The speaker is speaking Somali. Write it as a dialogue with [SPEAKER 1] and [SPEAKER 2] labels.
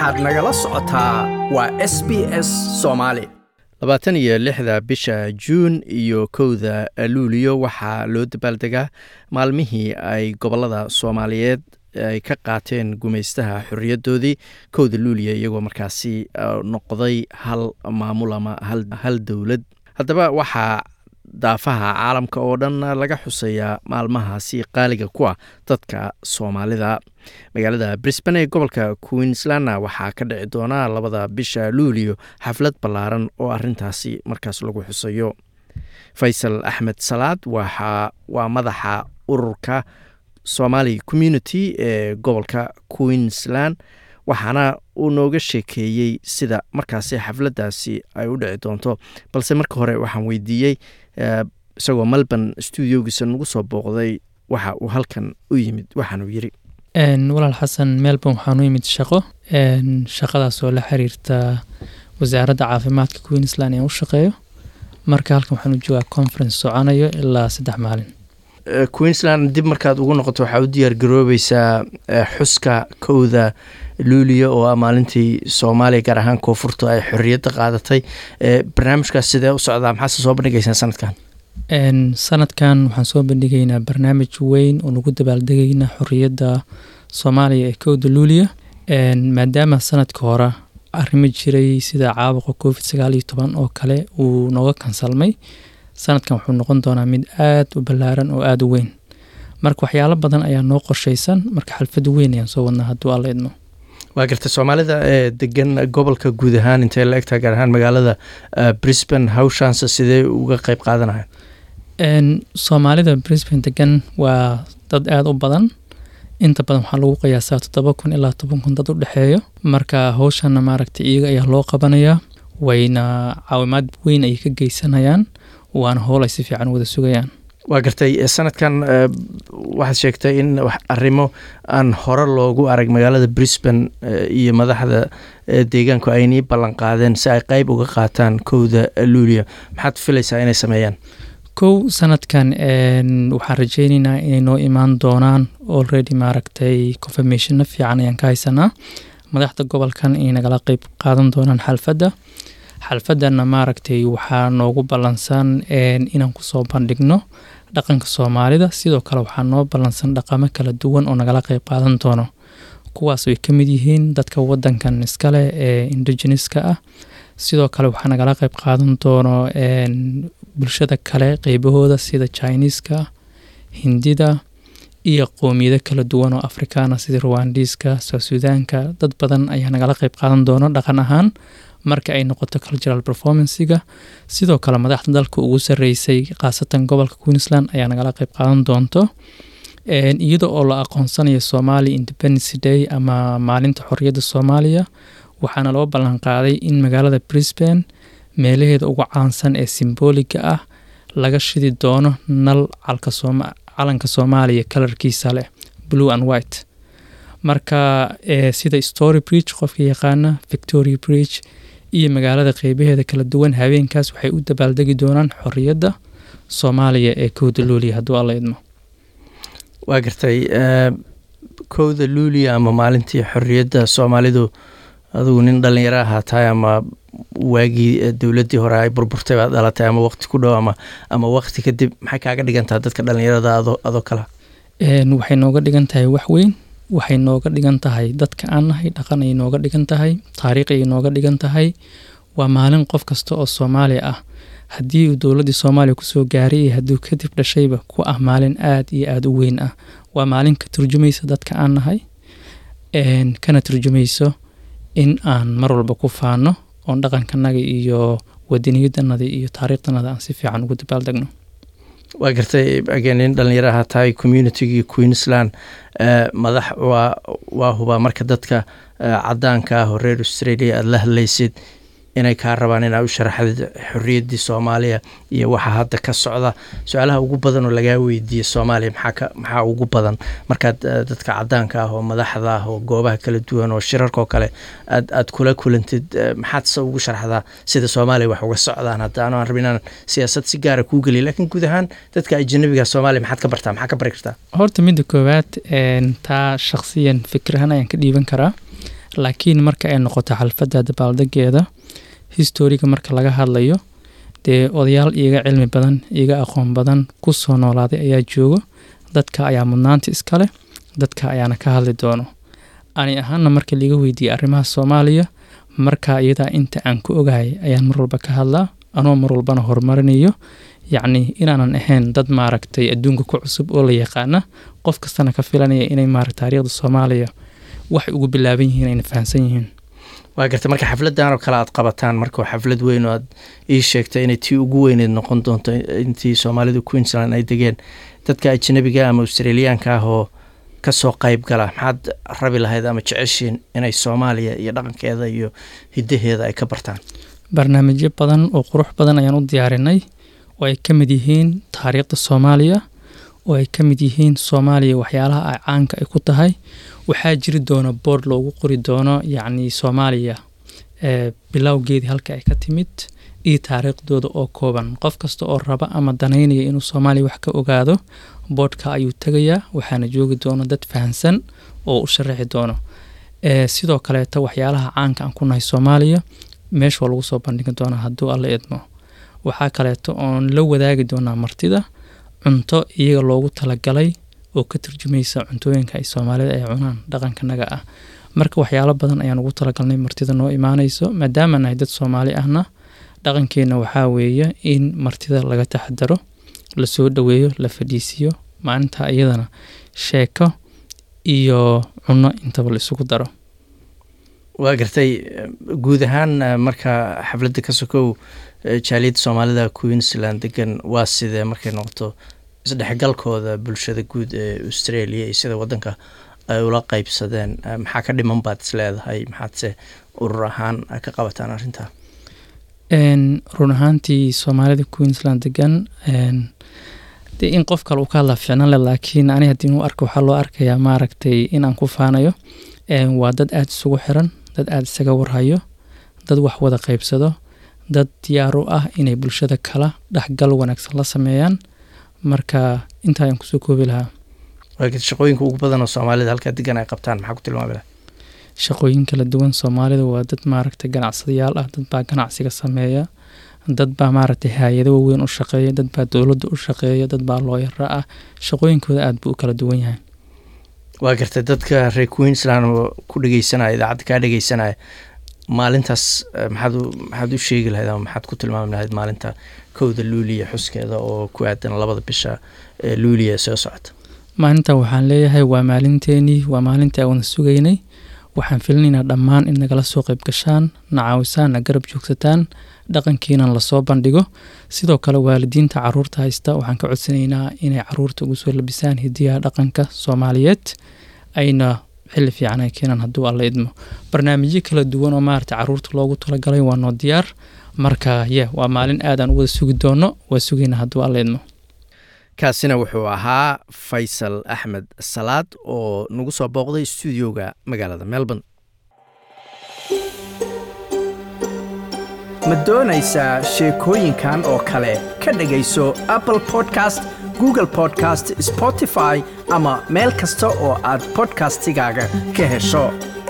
[SPEAKER 1] waxaad nagala socotaa waa SBS Soomaali. 26 bisha Juun iyo 1 Luulyo waxaa loo dabaaldegaa maalmihii ay gobolada Soomaaliyeed ay ka qaateen gumaystaha xorriyadoodii 1 Luulyo iyagoo markaasi noqday hal maamul ama hal dowlad. Haddaba waxaa daafaha caalamka oo dhan laga xuseeyaa maalmahaasi qaaliga ku ah dadka Soomaalida. Magaalada Brisbane ee gobolka Queensland waxaa ka dhici doona 2 bisha Luulyo xaflad ballaaran oo arintaasi markaas lagu xusayo. Faysal Axmed Salaad waa madaxa ururka Somali Community ee gobolka Queensland, waxaana uu nooga sheekeeyey sida markaasi xafladaasi ay u dhici doonto. Balse marka hore waxaan weydiiyey isagoo Melbourne studiogiisa nagu soo booqday waxa uu halkan u yimid. waxaanu yiri
[SPEAKER 2] walaal xasan, Melbourne waxaan u yimid shaqadaas oo la xiriirta wasaaradda caafimaadka Queensland ee u shaqeeyo. Marka halkan waxaan u joogaa conference soconayo ilaa 3 maalin.
[SPEAKER 1] Queensland dib markaad ugu noqoto waxaa u diyaar garoobaysaa xuska 1 Luulyo oo maalintii Soomaaliya gaar ahaan koonfurta ay xorriyadda qaadatay. Barnaamijkaas sidee u socdaa? maxaa soo bandhigaysaan sanadkan?
[SPEAKER 2] Sanadkan waxaan soo bandhigaynaa barnaamij weyn oo lagu dabaaldegaynaa xorriyadda Soomaaliya ee 1 Luulyo. Maadaama sanadka hore arrimo jiray sida caabuqa COVID-19 oo kale uu nooga kansalmay, sanadkan wuxuu noqon doonaa mid aad u ballaaran oo aad u weyn. Marka waxyaalo badan ayaa noo qorshaysan, marka xalfad weyn ayaan soo wadnaa hadduu alla idmo.
[SPEAKER 1] waa garta Soomaalida ee degan gobolka guud ahaan intee la egtaa gaar ahaan magaalada Brisbane hawshaansa sidee uga qayb qaadanayaan?
[SPEAKER 2] Soomaalida Brisbane degan waa dad aad u badan. Inta badan waxaa lagu qiyaasaa 7,000 ilaa 10,000 dad u dhexeeyo. Marka hawshanna maaragtay iyaga ayaa loo qabanayaa, wayna caawimaad weyn ay ka geysanayaan, waana howl ay si fiican wada sugayaan.
[SPEAKER 1] waa gartay sanadkan waxaad sheegtay in arrimo aan hore loogu arag magaalada Brisbane iyo madaxda deegaanku ay nii ballan qaadeen si ay qayb uga qaataan 1 Luulyo. maxaad filaysaa inay sameeyaan?
[SPEAKER 2] sanadkan waxaan rajaynaynaa inay noo imaan doonaan already maaragtay confirmation fiican ayaan ka haysanaa. madaxda gobolkan inay nagala qayb qaadan doonaan xalfadana maaragtay waxaa noogu ballansan inaan kusoo bandhigno dhaqanka Soomaalida. sidoo kale waxaa noo ballansan dhaqamo kala duwan oo nagala qayb qaadan doono, kuwaas ay ka mid yihiin dadka wadankan iskale ee indigenouska ah. sidoo kale waxaa nagala qayb qaadan doono bulshada kale qaybahooda sida Chinese-ka, Hindida iyo qoomiyado kala duwan oo Afrikaana sida Rwandiska, South Sudanka. dad badan ayaa nagala qayb qaadan doono dhaqan ahaan marka ay noqoto cultural performance-ga. sidoo kale madaxda dalka ugu sareysay qaasatan gobolka Queensland ayaa nagala qayb qaadan doonto, iyadoo oo la aqoonsanayo Somali Independence Day ama maalinta xorriyadda Soomaaliya. waxaana loo ballan qaaday in magaalada Brisbane meelaheeda ugu caansan ee simboliga ah laga shidi doono nal calanka Soomaaliya kalarkiisa leh blue and white. marka sida Story Bridge qofka yaqaana, Victoria Bridge iyo magaalada qaybaheeda kala duwan habeenkaas waxay u dabaaldegi doonaan xorriyadda Soomaaliya ee 1 Luulyo hadduu alla idmo.
[SPEAKER 1] waa gartay 1 Luulyo ama maalintii xorriyadda Soomaalidu adigu nin dhalinyaro ahaa tahay ama waagii dowladdii hore ay burburtay baad dhalatay ama waqti ku dhow ama waqti kadib, maxay kaaga dhigantaa dadka dhalinyarada adoo kala?
[SPEAKER 2] waxay nooga dhigan tahay wax weyn. waxay nooga dhigan tahay dadka aan nahay, dhaqan ay nooga dhigan tahay, taariikh ay nooga dhigan tahay. waa maalin qof kasta oo Soomaali ah haddii uu dowladdii Soomaaliya kusoo gaaray iyo hadduu kadib dhashayba ku ah maalin aad iyo aad u weyn ah. waa maalin ka turjumaysa dadka aan nahay, kana turjumayso in aan mar walba ku faano oon dhaqankanaga iyo wadaniyadanada iyo taariikhdanada aan si fiican ugu dabaaldegno.
[SPEAKER 1] waa gartay again dhalinyaraha tahay community Queensland madax waa huba marka dadka cadaanka ah oo reer Australia aad la hadlaysid inay ka rabaan inay u sharaxdo xorriyaddii Soomaaliya iyo waxa hadda ka socda. su'aalaha ugu badan oo laga weydiiyo Soomaaliya maxaa ugu badan markaad dadka cadaanka ah oo madaxda ah oo goobaha kala duwan oo shirarka oo kale aad kula kulantid, maxaad ugu sharaxdaa sida Soomaaliya wax uga socdaan? hadda aan rabin siyaasad si gaar ah ku geliyo, laakiin guud ahaan dadka ajnabiga Soomaaliya maxaad ka bartaa, maxaa ka bari kartaa?
[SPEAKER 2] horta midda koowaad taa shakhsiyan fikrahan ayaan ka dhiiban karaa. laakiin marka ay noqoto xalfadda dabaaldegeeda historiga marka laga hadlayo dee odayaal iyaga cilmi badan iyaga aqoon badan ku soo noolaaday ayaa joogo dadka ayaa mudnaanta iska leh dadka ayaana ka hadli doono ani ahaana marka liiga weydiiyey arrimaha Soomaaliya marka iyada inta aan ku ogahay ayaan mar walba ka hadlaa anoo mar walbana horumarinayo yacni inaanan ahayn dad maaragtay adduunka ku cusub oo la yaqaana qof kastana ka filanaya inay maaragtay taariikhda Soomaaliya wax ugu bilaaban yihiin inay fahansan yihiin
[SPEAKER 1] waa gartay marka xafladan oo kale aad qabataan marka xaflad weyn oo aad ii sheegtay inay tii ugu weyneed noqon doonto intii Soomaalidu Queensland ay degeen dadka ajnabiga ama Australiaanka ah oo ka soo qayb gala maxaad rabi lahayd ama jeceshiin inay Soomaaliya iyo dhaqankeeda iyo hidaheeda ay ka bartaan
[SPEAKER 2] barnaamijyo badan oo qurux badan ayaan u diyaarinay oo ay ka mid yihiin taariikhda Soomaaliya oo ay ka mid yihiin Soomaaliya waxyaalaha ay caanka ay ku tahay waxaa jiri doona board loogu qori doono yacni Soomaaliya bilowgeedii halka ay ka timid iyo taariikhdooda oo kooban qof kasta oo raba ama danaynaya inuu Soomaaliya wax ka ogaado boardka ayuu tagayaa waxaana joogi doona dad fahansan oo u sharaxi doono sidoo kale waxyaalaha caanka aan ku nahay Soomaaliya meesha lagu soo bandhigi doona hadduu alla idmo waxaa kaleeto oon la wadaagi doonaa martida cunto iyaga loogu talagalay oo ka turjumaysa cuntooyinka ay Soomaalida ay cunaan dhaqankanaga ah marka waxyaalo badan ayaan ugu talagalnay martida noo imaanayso maadaama nahay dad Soomaali ahna dhaqankeena waxaa weeye in martida laga taxadaro la soo dhaweeyo la fadhiisiyo maalinta iyadana sheeko iyo cunno intaba la isugu daro
[SPEAKER 1] waa gartay guud ahaan marka xafladda ka sokow jaaliyadda Soomaalida Queensland degan waa sidee markay noqoto isdhexgalkooda bulshada guud ee Australia iyo sida wadanka ay ula qaybsadeen maxaa ka dhiman baad isleedahay maxaadse urur ahaan ka qabataan arrinta
[SPEAKER 2] run ahaantii Soomaalida Queensland degan in qof kale uu ka hadla fiicnaan leh laakiin ani haddii uu arko waxaa loo arkayaa maaragtay inaan ku faanayo waa dad aad isugu xiran dad aad isaga warhayo dad wax wada qaybsado dad diyaar u ah inay bulshada kala dhexgal wanaagsan la sameeyaan marka inta aan kusoo koobi lahaa
[SPEAKER 1] shaqooyinka ugu badan oo Soomaalida halka degan ay qabtaan maxaa ku tilmaami lahaa
[SPEAKER 2] shaqooyin kala duwan Soomaalida waa dad maaragtay ganacsadayaal ah dad baa ganacsiga sameeya dad baa maaragtay hay'ado waaweyn u shaqeeya dad baa dawladda u shaqeeya dad baa looyara ah shaqooyinkooda aad buu u kala duwan yahay
[SPEAKER 1] waa gartay dadka reer Queensland oo ku dhageysanaya idaacadda ka dhageysanaya maalintaas maxaad u sheegi lahayd ama maxaad ku tilmaami lahayd maalinta kowda Luuliya xuskeeda oo ku aadan 2 bisha Luuliya soo socota
[SPEAKER 2] maalinta waxaan leeyahay waa maalinteeni waa maalinta aan sugaynay waxaan filinaynaa dhammaan in nagala soo qayb gashaan nacaawisaan garab joogsataan dhaqankeena la soo bandhigo sidoo kale waalidiinta caruurta haysta waxaan ka codsanaynaa inay caruurta ugu soo labisaan hidiyaha dhaqanka Soomaaliyeed ayna xilli fiican ay keenan hadduu alla idmo barnaamijyo kala duwan oo maaragtay caruurta loogu talagalay waa noo diyaar marka waa maalin aad aan u wada sugi doono waa sugayna hadduu alla idmo
[SPEAKER 1] kaasina wuxuu ahaa Faysal Axmed Salaad oo nagu soo booqday stuudioga magaalada Melbourne ma doonaysaa sheekooyinkan oo kale ka dhagayso Apple Podcast Google Podcast Spotify ama meel kasta oo aad podcastigaaga ka hesho